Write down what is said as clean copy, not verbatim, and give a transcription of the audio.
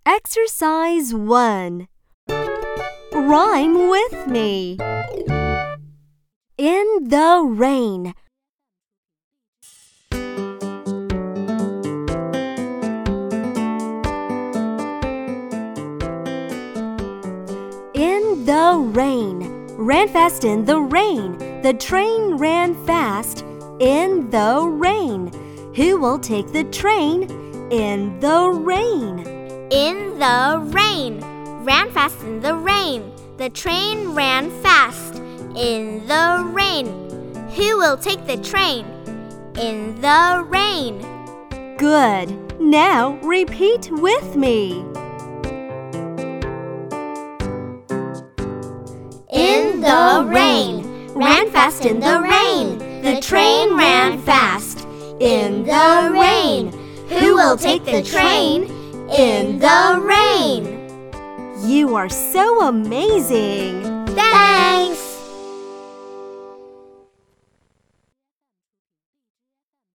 Exercise 1. Rhyme with me. In the rain. In the rain. Ran fast in the rain. The train ran fast in the rain. Who will take the train in the rain? In the rain. Ran fast in the rain. The train ran fast in the rain. Who will take the train in the rain? Good. Now repeat with me. In the rain. Ran fast in the rain. The train ran fast in the rain. Who will take the train in the rain? You are so amazing!